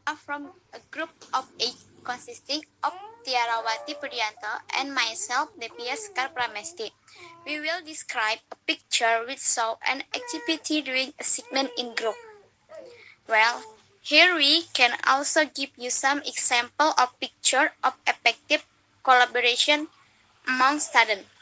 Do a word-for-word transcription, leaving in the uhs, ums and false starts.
are from a group of eight consisting of Tiarawati Puryanto and myself, Devya Sekar Pramesti. We will describe a picture which shows an activity during a segment in group. Well, here we can also give you some example of picture of effective collaboration among students.